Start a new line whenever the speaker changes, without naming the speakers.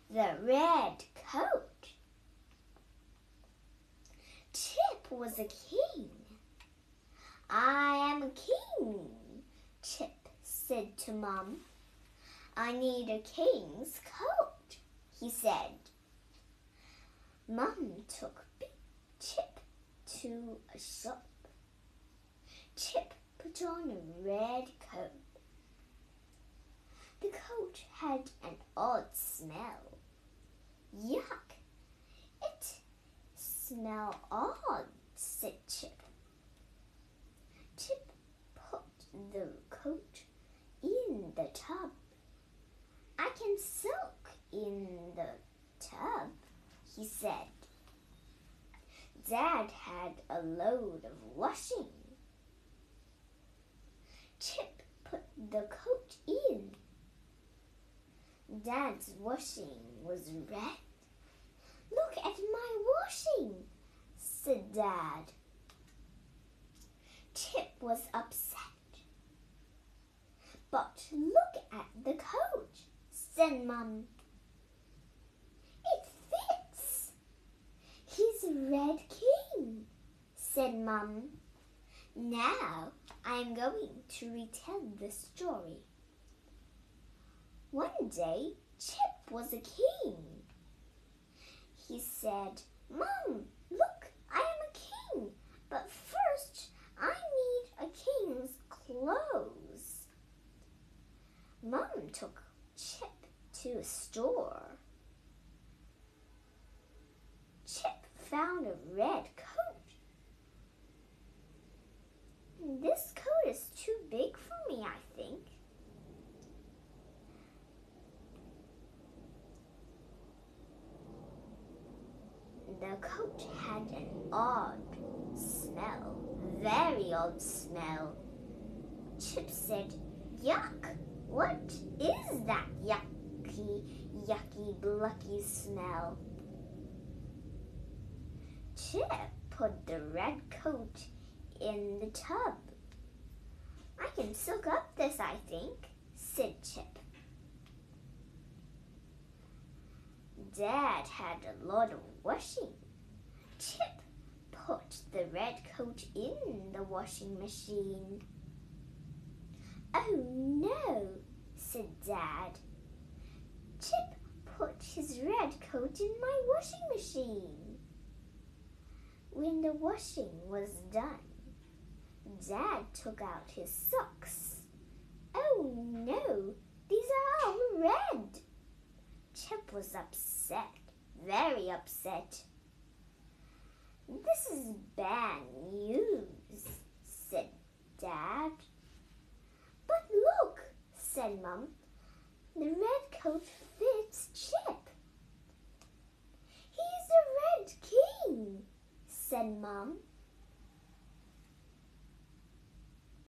the red coat. Chip was a king. I am a king, Chip said to Mum. I need a king's coat, he said. Mum took Chip to a shop. Chip put on a red coat. The coat had an odd smell. Yuck! It smelled odd, said Chip. Chip put the coat in the tub. I can soak in the tub, he said. Dad had a load of washing. Chip put the coat in. Dad's washing was red. Look at my washing, said Dad. Chip was upset. But look at the coat, said Mum. It fits. He's a red king, said Mum. Now I am going to retell the story. One day, Chip was a king. He said, Mum, look, I am a king, but first I need a king's clothes. Mum took Chip to a store. Chip found a red coat. This coat is too big for me, I think. The coat had an odd smell, very odd smell. Chip said, Yuck! What is that yucky, blucky smell? Chip put the red coat in the tub. I can soak up this, I think, said Chip. Dad had a lot of washing. Chip put the red coat in the washing machine. Oh no, said Dad. Chip put his red coat in my washing machine. When the washing was done, Dad took out his socks. Oh no, these are all red. Chip was upset, very upset. This is bad news, said Dad. But look, said Mum, the red coat fits Chip. He's a red king, said Mum.